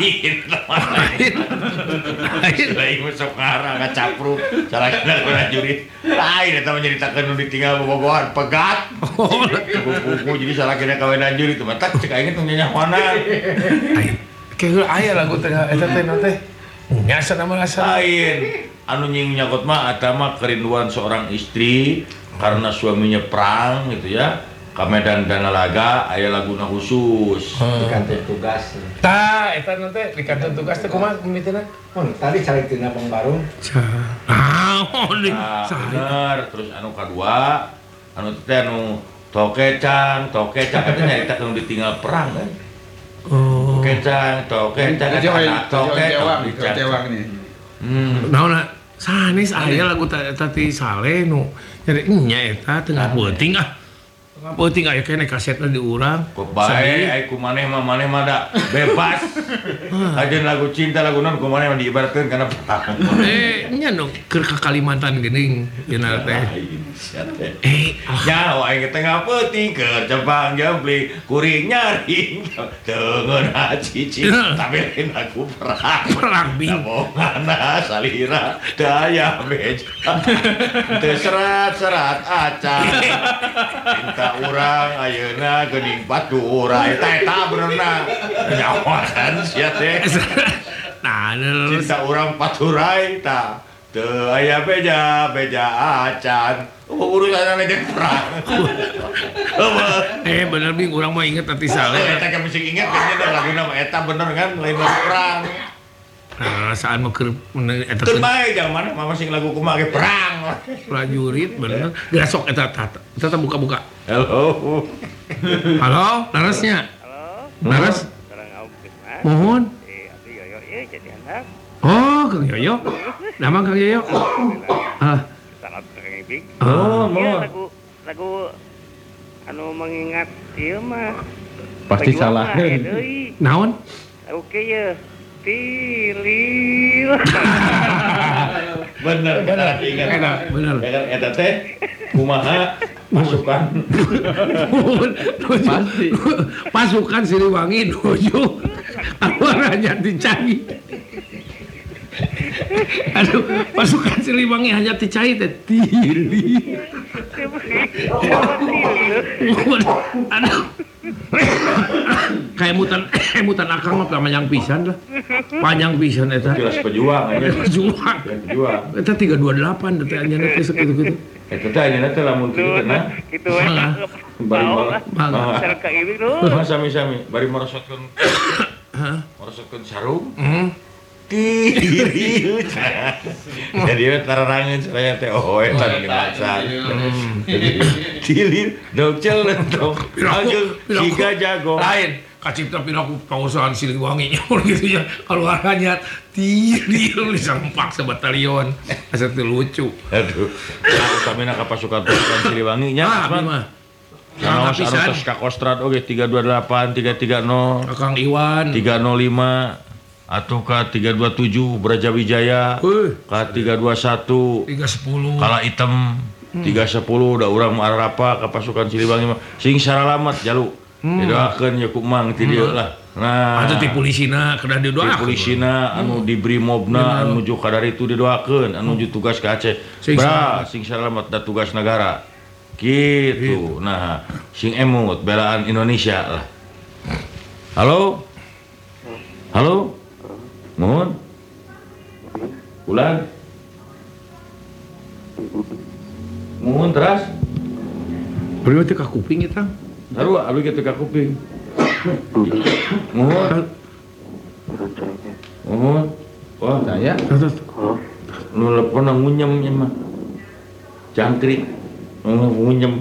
lain, lain, lain masuk ngarang ngacapruk, salah kena kena jurit, lain, eta menceritakan nu ditinggal bobogohan pegat, buku jadi salah kena kawinan jurit, tuh mata cek aing teh nyanyi mana, Ai, kayak aya lagu teh eta teh na teh. Nyasa nama asa. lain, anu nying nyakot mah eta mah kerinduan seorang istri karena suaminya perang gitu ya. Ka Medan Danalaga aya laguna khusus. Di kantor tugas. Tah, eta nanti di kantor tugas teh kumaha mimitna? Oh, tadi cari tina Bang Barung. Ah, oh, di Nah, saya. bener. Terus anu kadua, anu teh anu tokecang, tokecang eta nyarita anu ditinggal perang kan. Oh. Tokecang, tokecang, Kecewang, tokecang, kecewang, kecewang nih. Hmm. Naonna sanes aya lagu ta- tati saleh nu nyari nya eta tengah peuting ah. Tengah peuting aya kene kasetna di urang. Kok bae ai ku maneh mah maneh mah da bebas. Ajeun lagu cinta lagu non ku maneh mah diibaratkeun kana perang. Eh, nya nu keur ka Kalimantan geuning cenah teh. Lain, sia teh. Eh, ah, Nyawa aing tengah peuting keur jempang jempling kuring nyaring teu ngeunah cicing tapi lain lagu perang. perang bing. Ngomongana salira daya beja teu serat-serat acan cinta urang ayeuna geuning batur eta eta benerna nyawakan sia teh Nah, terus cinta urang paturai ta teu aya beja beja acan urusan jeung perang eueuh eh bener bing urang mah inget tati saleh. eta kan mesti ingat kayaknya laguna mah eta bener kan lain lagu perang. Nah, saan mah keur meneng eta Teu teh bae jangan mah masing lagu kumaha ge perang. prajurit bener. Geus sok eta eta eta buka-buka. Halo. Halo, larasnya. Halo, Laras, sekarang Om Krisman. mohon. Eh, aku Yoyo ya jadi anak. Oh, Kang Yoyo. Nama Kang Yoyo. Ah, Salam Kang Ibing. oh, Iya, mohon. lagu lagu anu mengingat ieu mah. Pasti Pejuang salah. mah, eh, deui. Naon? Oke ya. Pilih. Bener, bener, ingat. Eta, bener. Ya kan, eta teh kumaha pasukan Pasti. Pasukan Siliwangi nuju Alwar Hajati Cai. Aduh, pasukan Siliwangi Hajati Cai teh tili. Aduh. Kayak mutan mutan akang mah panjang pisan lah. Panjang pisan eta. jelas pejuang aja. Juang. Jelas pejuang. Eta tiga dua delapan teh anjeunna teh sakitu-kitu. Eta teh ayeuna teh lamun kitu teh nah. Gitu we. Malah. Bari malah. Malah. Sareng Kang Ibing dulu. Mah sami-sami bari merosotkeun merosotkeun sarung. Hmm. Tiri. Jadi we tararangeun saya teh oh eta nu dimaksud. Tiri docel dong. Ageng siga jago. Lain kacipta pinaku pausahaan Siliwangi nyaur gitu ya keluarannya tiri lu disempak sebatalion asa teu lucu. Aduh. Aku samina ka pasukan pasukan Siliwangi nya. Ah, abdi mah. Naos anu Pisan. tos ka Kostrad oge tiga dua delapan, tiga tiga nol, Akang Iwan. tiga nol lima atau ka tiga dua tujuh Brajawijaya, Heuh, ka tiga dua satu tiga sepuluh. Kala Item, tiga sepuluh udah urang arapa ka pasukan Siliwangi mah sing saralamat jalu. Didoakeun ya ku Mang ti dieu lah. Nah, Atau ti polisina kedah di didoakeun. polisina anu di Brimobna anu nuju ka dari itu didoakeun anu nuju tugas ka Aceh. Sing Bra, sing saralamat da tugas negara. Gitu. Nah, sing emut belaan Indonesia lah. Halo? Halo? Mohon? Ulan? Mohon teras? Beri teh ka kuping eta. Taruh abdi kitu ka kuping. Mohon? Mohon? Wah, Saya nu lepon ngunyem nya mah. Jangkrik. Nu ngunyem.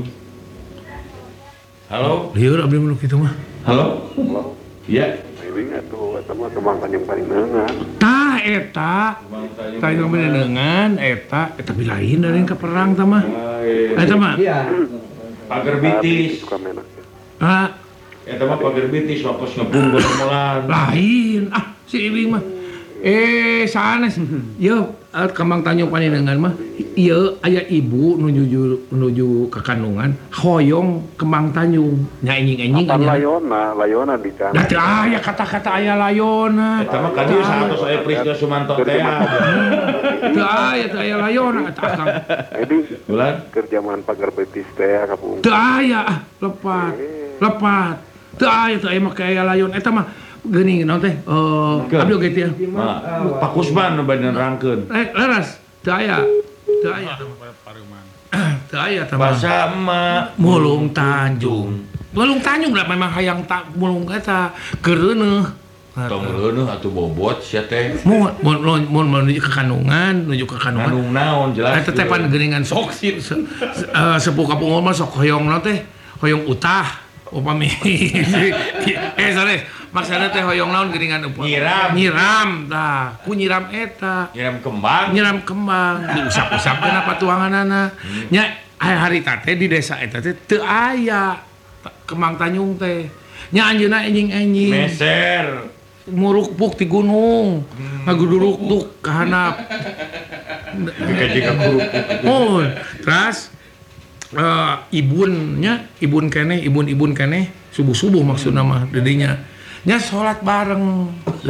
Halo? Lieur abdi mah kitu mah. Halo? Iya. Ibing atuh eta mah kemangkan yang paling neungan. Tah eta. Tah yang menengan eta eta bilain dari ka perang tah mah. Eta mah. Iya. Pager bitis. Suka menak. Ah, Eta mah pager bitis wakos ngebung molan. lain. Ah, si Ibing mah. Eh, sanes. Yo, eh, Kembang Tanjung Panenengan mah. Ieu aya ibu nuju nuju ke kandungan hoyong Kembang Tanjung. Nya enjing-enjing Apa anya. layona, layona di sana. Da teu aya kata-kata aya layona. Eta mah kan ieu satos aya Prisda Sumanto teh. Teu aya teu aya layona eta akang. Ibing Bulan? kerjaan pagar betis teh kapung. Teu aya ah, lepat. Lepat. Teu aya teu aya make aya layon eta mah geuning naon teh? Eh, abdi oge teh. Nah, Pak Kusman nu bade nerangkeun. Eh, leras. Teu aya. Teu aya. Teu aya tah mah. Bahasa emak Mulung Tanjung. Mulung Tanjung lah memang hayang tak mulung eta keureuneuh. tong reuneuh atuh bobot sia teh. Mun mun mun mun menuju ke kandungan, menuju ke kandungan. Nganung naon jelas. Eta teh pan geuningan sok se- se- eh, sepuh kapungul mah sok hoyong na teh, hoyong utah upami. Eh sorry, maksudna teh hoyong naon geuningan upami. Nyiram. Nyiram tah, ku nyiram eta. Nyiram kembang. Nyiram kembang, diusap-usapkeun apa tuanganana. Nya harita teh di desa eta teh teu aya ta- Kembang Tanjung teh. Nya anjeunna enjing-enjing. Meser. Murukpuk di gunung, ngaguduruk-duk ka handap. Dikaji ka guru. Oh, terus eh, ibunnya, ibun keneh, ibun-ibun keneh, subuh-subuh maksudna mah dedinya. Nya salat bareng.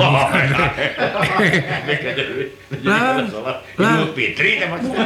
Lah, lah. Idul Fitri teh maksudna.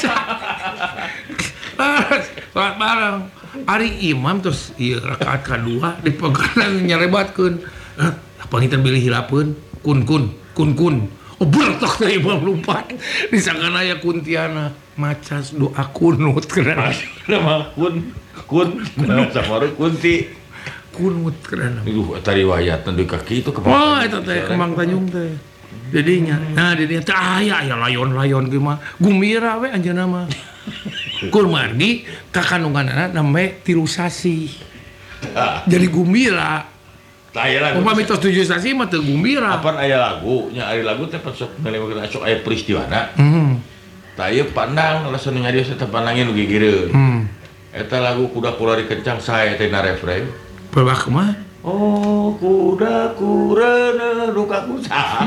Salat bareng. Ari imam terus ieu rakaat kadua dipegang nyarebatkeun. Panginten bilih hilapeun, kun kun, kun kun. Oh bertok teh imam lompat. Disangkan aya kuntiana macas doa kunut keren. Nama kun kun sama kunti. Kunut keren. Iduh eta riwayatna di kaki itu Wah, eta teh Kembang Tanjung teh. Jadinya, nah jadinya teh aya aya layon-layon ge mah. Gumbira we anjeunna mah. Kur margi ka kandunganna name tilu sasi. Jadi gumbira. Taya lagu. Umpama mitos tujuh stasi mah teu gumbira. Apaan aya lagu? Nya ari lagu teh pas sok ngelewkeun sok aya peristiwana. Hmm. Taya pandang langsung nyarios eta pandangin nu gigireun. Hmm. Eta lagu kuda kulari kencang sae teh na refreng. Pelbah kumaha? Oh, kuda kurana dukaku saha.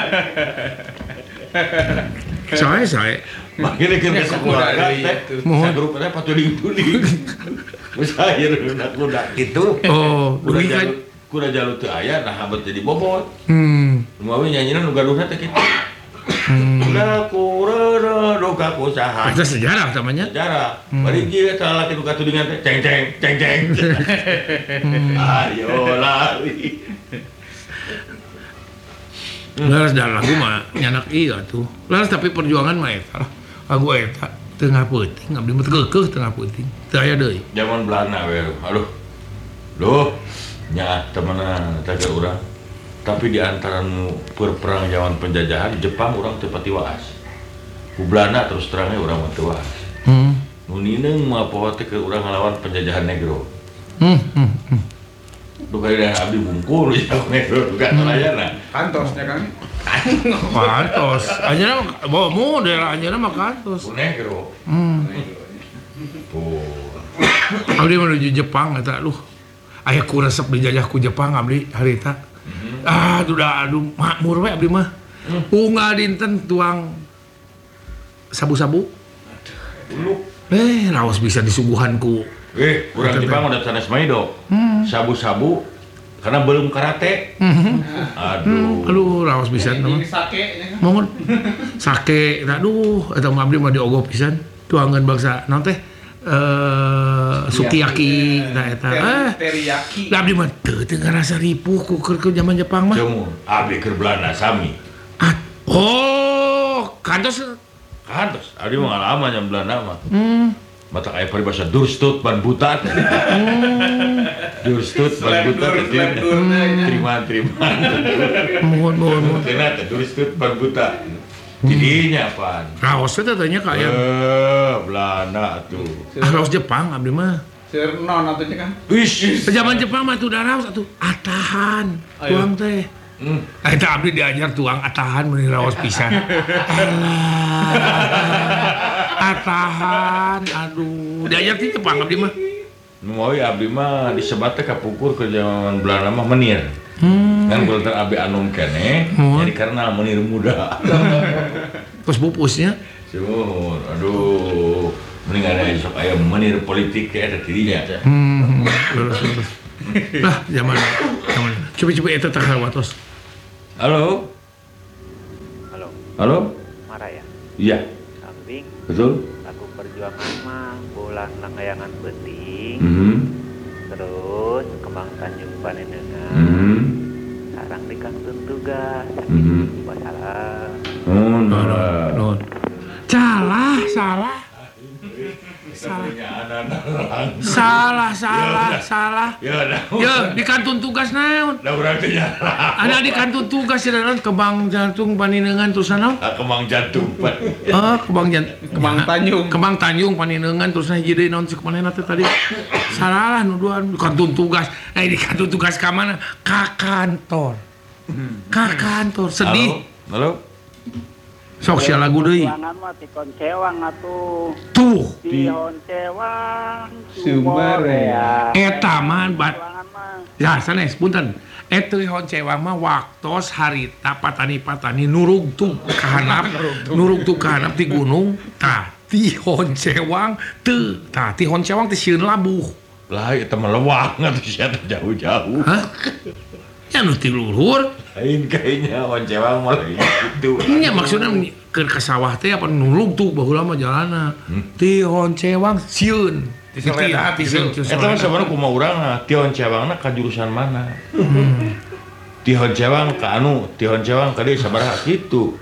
Sae sae. Makanya kan ke keluarga teh. Mohon. Sagrupna patuling-tuling. Musair na kuda kitu. Oh, Kuda dugi kan. jalut kuda jalut teu aya nah habet jadi bobot. Hmm. Umawi nyanyina nu gaduhna teh kitu. Hmm. Kuda kurana dukaku saha. Itu sejarah namanya. Sejarah. Bari ieu eta lalaki nu katudingan teh ceng ceng ceng ceng. Ayo lari. Laras dan lagu mah nyanak iya tuh. Laras tapi perjuangan mah eta. Lagu eta tengah penting, abdi mah keukeuh tengah penting. Teu aya deui. Zaman Belanda we. Aduh. Duh. Nya temenan eta ge urang. Tapi di antara nu perperang zaman penjajahan Jepang urang teu pati waas. Ku Belanda terus terangnya urang mah teu waas. Hmm. Nu nineung mah poho teh ke urang ngalawan penjajahan negro. Hmm. hmm, hmm. Duh kaya abdi bungkul ya negro juga telayana. Kantosnya kan. Kantos. Anjeunna bawa model anjeunna mah kantos. Ku negro. Hmm. Tuh. Abdi menuju Jepang eta aduh. Aya ku resep dijajah ku Jepang abdi harita. Ah, udah aduh makmur we abdi mah. Unggal dinten tuang sabu-sabu. Dulu. Eh, raos bisa disuguhan ku. Eh, urang Betul, Jepang udah sanes maido. Sabu-sabu karena belum karate. Aduh. Aduh, raos pisan mah. Ini sake nya kan. Mohon sake, aduh, eta mah abdi mah diogok pisan. Tuangan bangsa naon teh? Eh, sukiyaki nah eta. Eh, Teriyaki. da abdi mah teu teu ngarasa ripuh ku keur ke zaman Jepang mah. Cemu, abdi keur Belanda sami. Ah, oh, kantos. Kantos, abdi mah ngalaman yang Belanda mah. Hmm. Mata aya paribasa durstut ban buta. Durstut ban buta teh. Terima terima. Mohon mohon mohon. Tina teh durstut ban buta. Tidinya apaan? Raos teh tanya ka aya. Eh, Belanda tuh. Ah, raos Jepang abdi mah. Seur non atunya kan. Wish. Zaman Jepang mah tuh da raos atuh atahan. Tuang teh. Hmm. Eta abdi diajar tuang atahan meuni raos pisan. Alah. Atahan, aduh. Diajar ti Jepang abdi mah. Nu mau abdi mah disebat teh kapukur ke zaman Belanda mah menir. Hmm. Kan kultur abdi anum keneh, Hmm. jadi karena menir muda. Terus pupusnya. Cuman, aduh, mending ada sok aya menir politik kayak ada dirinya. Hmm. Lurus lurus. Lah, zaman zaman. Coba-coba eta teh watos. Halo, Halo, halo, marah ya? iya, Kambing, betul. lagu perjuangan mah bulan langgayangan penting, Mhm, terus kembang Tanjung Panenengan, mhm, sarang di kantun tugas, mhm. masalah. Oh, Nuhun, nah. nuhun. Salah, salah. Salah. Salah, salah, salah. Ya, dah. Ya, di kantun tugas naon? Dah urang teh nyala. Ada di kantun tugas ya naon kembang jantung paninengan terus naon? Ah, kemang jantung, Pak. Ah, kembang jantung. Kembang Tanjung. Kembang Tanjung paninengan terus hiji naon sih kemana teh tadi? Salah lah nuduhan di kantun tugas. Eh di kantun tugas ka mana? Ka kantor. Ka kantor sedih. Halo, halo. Sok sia lagu deui. Perjuangan mah tikon cewang atuh. Tuh, Tihon cewang Sumarea. eta mah bat Perjuangan mah ya sanes punten. Eta hon cewang mah waktos harita patani-patani nurug tuh kahanap, nurug tuh kahanap di gunung. Tah, tihon cewang teu, tah tihon cewang teh sieun labuh. Lah, itu melewang atau siapa jauh-jauh. Hah? Ya nu ti luhur. Lain kayaknya wancewang malah gitu. Nya maksudna keur ka sawah teh apa nurug tuh baheula mah jalanna. Tihon cewang sieun. Di Soledad, Sieun, gitu. sieun, Eta mah sebenarnya kumaha urang nah, Tihon Cewangna ka jurusan mana? Hmm. Tihon Cewang ka anu, Tihon Cewang ka dieu sabaraha kitu.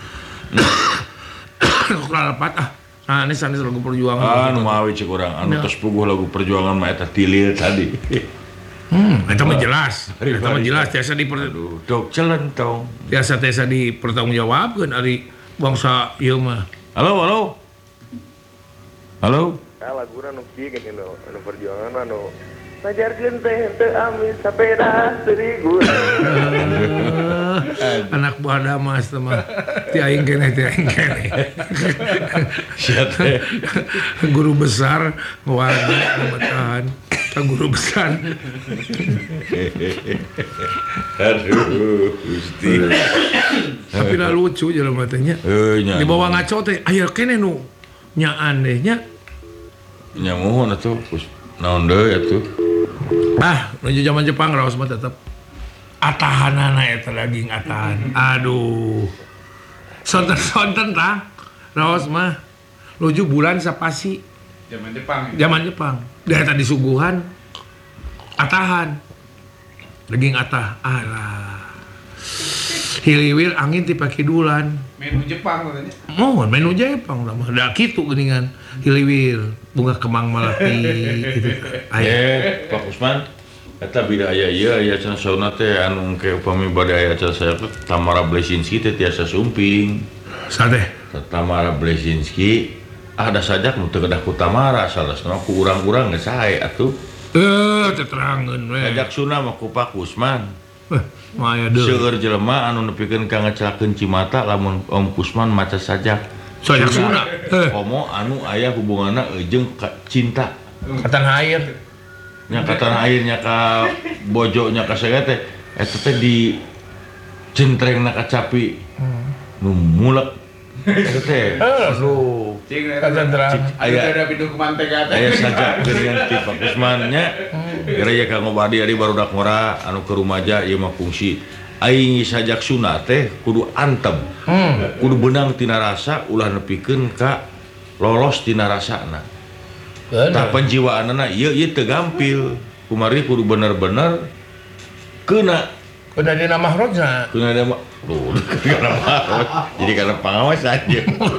Kok lalapat ah. Nah, ini sanes lagu perjuangan. Ah, nu mawi cek urang, anu Ya. tos puguh lagu perjuangan mah eta tilir tadi. Hmm, eta mah jelas. Hari- Eta mah hari- jelas tiasa di Aduh, dok celentong. tiasa tiasa dipertanggungjawabkeun ari bangsa ieu mah. Halo, halo. Halo. Ah, laguna nu kieu gini nu anu perjuangan mah nu Pajarkeun teh teu amis sapeda seribu. Anak buah Damas teh mah. Ti aing keneh, ti aing keneh. Sia teh. Guru besar ngawani ngebetahan ka guru besar. Aduh, Gusti. Tapi lah lucu jelema teh nya. Heuh nya. Di bawah ngaco teh aya keneh nu nyaan deh nya. Nya mohon atuh, Gus. Naon deui atuh? Ah, menuju zaman Jepang raos mah tetep atahanana eta daging atahan. Aduh. Sonten-sonten tah. Raos mah nuju bulan sapasi Zaman Jepang. zaman Jepang. Da eta disuguhan atahan. Daging atah. Alah. Hiliwil angin ti pakidulan. Menu Jepang katanya. Mohon menu Jepang lah mah. Da kitu geuningan hiliwil bunga kemang malapi gitu. Aya. Eh, Pak Usman, eta bida aya ieu aya cenah sauna teh anu engke upami bade aya acara saya teh Tamara Blesinski teh tiasa sumping. Sate. Tamara Blesinski ada sajak nu teu kedah ku Tamara salasna ku urang-urang geus sae atuh. Eh, teterangeun we. Sajak suna mah ku Pak Usman. Eh, maya deui. Seueur jelema anu nepikeun ka ngecelakeun Cimata lamun Om Kusman maca sajak. Sajak suna. Eh, Komo anu aya hubunganna jeung ka cinta. katan air. Nya ka tanah airnya ka bojo nya ka sagaya teh eta teh di centrengna ka capi. Nu mulek. Eta teh. Aduh. Cing Katan terang. Aya ada pintu ke mantega teh. aya sajak geurian ti Pak Kusman nya. Gara ya ka ngobadi ari barudak ngora anu ke rumaja ieu mah fungsi. Aing sajak sunat teh kudu antem. Hmm. Kudu beunang tina rasa ulah nepikeun ka lolos tina rasana. Tah penjiwaanna ieu ieu teu gampil. Kumari kudu bener-bener keuna Udah dina mahrojna. keuna ada mah. Tuh, kana mahroj. Jadi kana pangawas aja.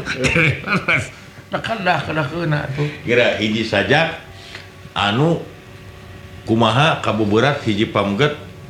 Dah kan dah kada keuna tuh. Kira hiji sajak anu kumaha kabuburat hiji pamget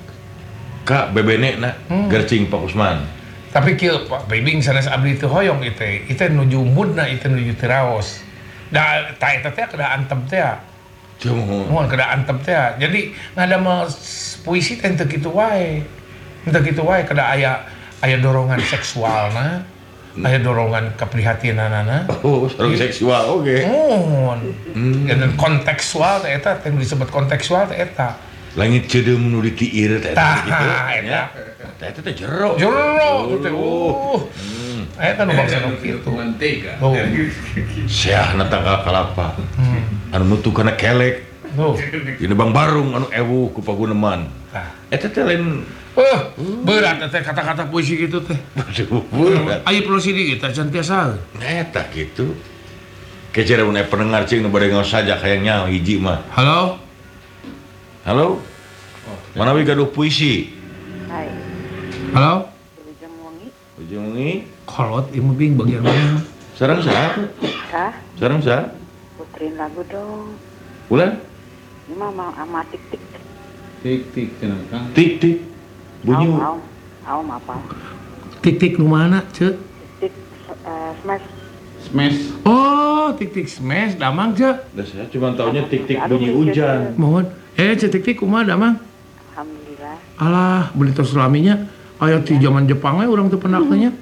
ka bebenena Hmm. gercing Pak Usman. Tapi kieu Pak Bibing sanes abdi teu hoyong ieu teh. Ieu teh nuju moodna, ieu teh nuju teu raos. Da ta eta teh kada antem teh. Cuma Moal kada antem teh. Jadi ngadamel puisi teh teu kitu wae. Teu kitu wae kada aya aya dorongan seksualna, aya dorongan keprihatinanana. oh, sareng seksual oge. Mohon. Hmm. Dan kontekstual teh eta teh disebut kontekstual teh eta. Langit cedeum nu ditiir teh Tah, gitu. eta. nya. Tah eta teh jero. Jero teh. Uh. Eta nu bangsa nu kitu. Mantega. Tuh. Seahna tanggal kalapa. Anu nutu kana kelek. Tuh. Ini Bang Barung anu ewuh ku paguneman. Tah. Eta teh lain Eh, berat teh kata-kata puisi gitu teh. aduh berat. Ayo prosidi kita can tiasa. Eta gitu. Kejar mun aya pendengar cing nu bade ngaos saja hayang nyaho hiji mah. Halo? Halo? Manawi gaduh puisi. Hai, Halo? Ujung Wangi. Ujung ini Kolot ieu bing bagian mana? sareng saha? Kah? Sareng saha? Puterin lagu dong. Bulan? Ini mah mau ama tik-tik. Tik-tik cenah Kang. Tik tik. Bunyi. Aum, aum. Aum apa? Tik-tik nu mana, Cek? Tik, eh, smash. Smash. Oh, tik-tik smash damang, Cek. Dah saya cuma taunya tik tik bunyi hujan. Mohon. Eh, Cek tik-tik kumaha damang? Alhamdulillah. Alah, beli tos laminya. Aya ti zaman Jepang we urang teu pernah teh nya.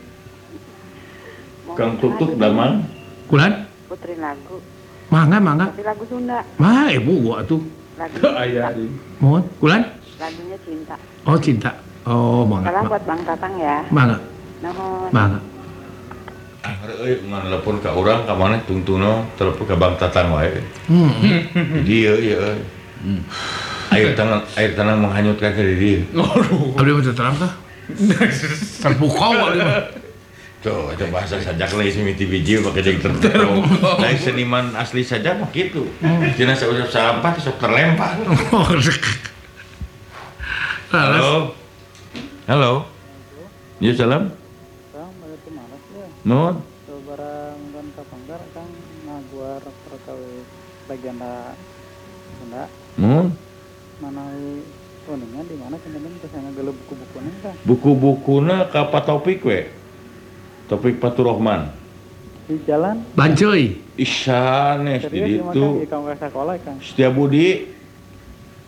Mau Kang puterin Tuk lagu Kulan? dong. Puterin lagu. Mangga, mangga. Tapi lagu Sunda. Mah, ibu gua atuh. Lagu Aya cinta. ini. Mohon. Kulan? Lagunya cinta. Oh, cinta. Oh, mangga. Salam ma- buat Bang Tatang ya. Mangga. Nuhun. Mangga. Euy, ngan telepon ka urang ka maneh tungtungna telepon ka Bang Tatang wae. Hmm. Di ieu ieu euy. Air tanah air tanah menghanyutkan ke diri. Abdi mah teu terang tah. Terpukau abdi mah. Tuh, itu bahasa sajak lain mimiti biji pakai jeung terpukau. Lain seniman asli saja mah kitu. Cenah sausap sampah sok terlempar. Halo. Halo. Ya salam. Kang, pada tu malas ya. Nuhun. Barang dan kapanggar kang ngaguar perkawis legenda Sunda. Nuhun. Manawi kuningan di mana kemudian kita ngagele buku-bukunya kang. Buku-bukuna ka Pak Taufik we. Taufik Faturrahman. Di jalan. Bancuy. Isanes di Serius ya, ditu. di kamu ke sekolah kang. Setia Budi.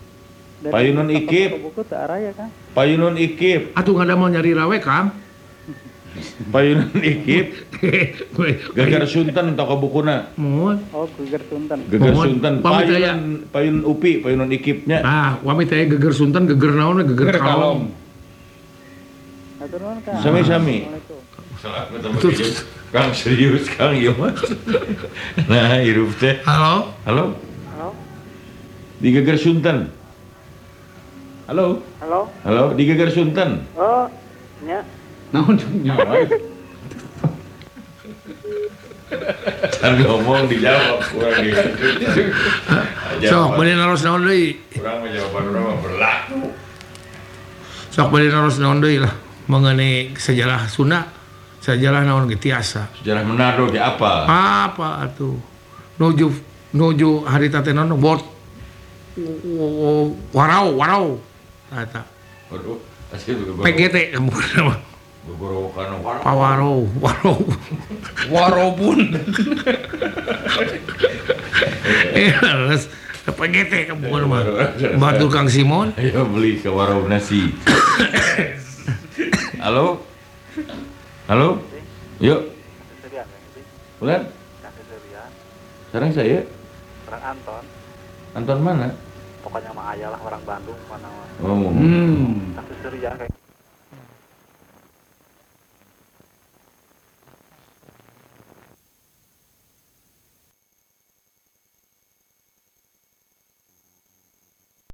Dari Payunan toko- Ikip. toko buku tak arah ya kan? Payunan Ikip, Atuh nggak ada mau nyari rawe Kang. payunan Ikip, Geger Sunten toko bukuna. Mohon. Oh, Geger Sunten. Geger Mohon. Sunten, Pamit ya. payunan payunan Upi, payunan Ikipnya. Ah, wami teh geger Sunten, geger naon, geger Geger kalong. Atur nuhun Kang. Sami-sami. Assalamualaikum. Kang serius Kang ieu mah. Nah, hirup teh. Halo. Halo, Halo? di Geger Sunten. Halo, Halo? halo, di Geger Sunten. Oh, nya. Naon nyawa. Kan ngomong dijawab kurang gitu. Sok bade naros naon deui. Kurang jawaban urang mah berlaku. Sok bade naros naon deui lah mengenai sejarah Sunda. Sejarah naon ge tiasa. Sejarah Manado ge apa? Apa atuh? Nuju nuju harita teh naon bot. Warau, warau. Eta. Waduh, asli P G T bukan nama. Gogorokan warau. Pawarau, warau. Warobun. Eh, harus P G T bukan nama. Batu Kang Simon. Ayo beli ke warung nasi. Halo? Halo? Yuk, Seserian kan itu. bulan. Kang Seserian. Sekarang saya, Orang Anton. Anton mana? Pokoknya mah ayah lah orang Bandung mana mah. Oh, Hmm. Kang Seserian kayak